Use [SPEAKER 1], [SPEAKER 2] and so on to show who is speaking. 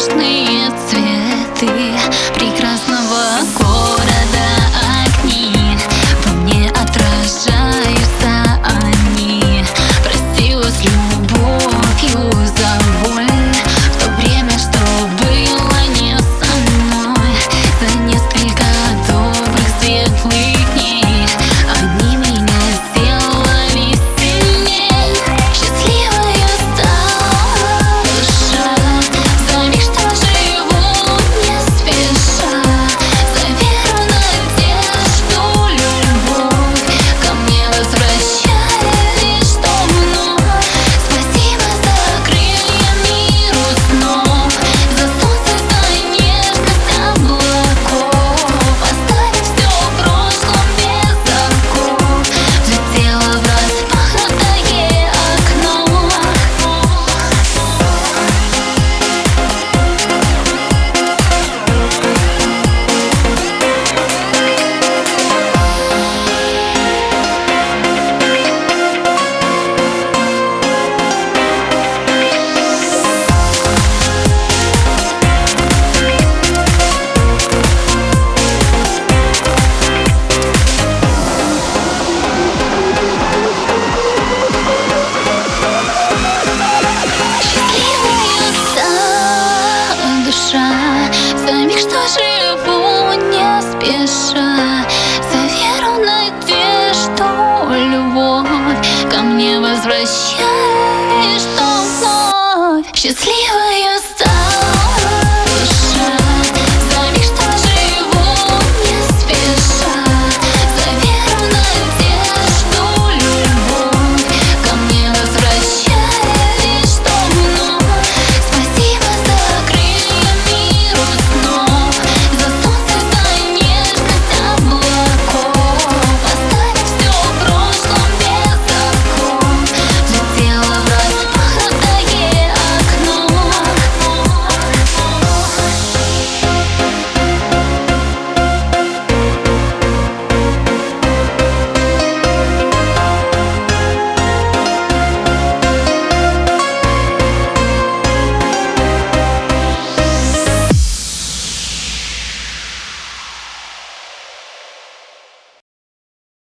[SPEAKER 1] нежные цветы прекрасного города. Огни во мне отражаются, они простила с любовью за боль в то время, что было не со мной. За несколько добрых светлых дней они меня сделали сильней. Счастливая стала душа за миг, что живу не спеша, за веру, надежду, любовь ко мне возвращаешь, что вновь. Спасибо за крылья миру снов, за солнце, за нежность облаков. Оставив все в прошлом без оков, взлетела в распахнутое окно. Счастливая стала душа за миг, что живу не спеша, за веру, надежду, любовь ко мне возвращаешь, что вновь. Счастливая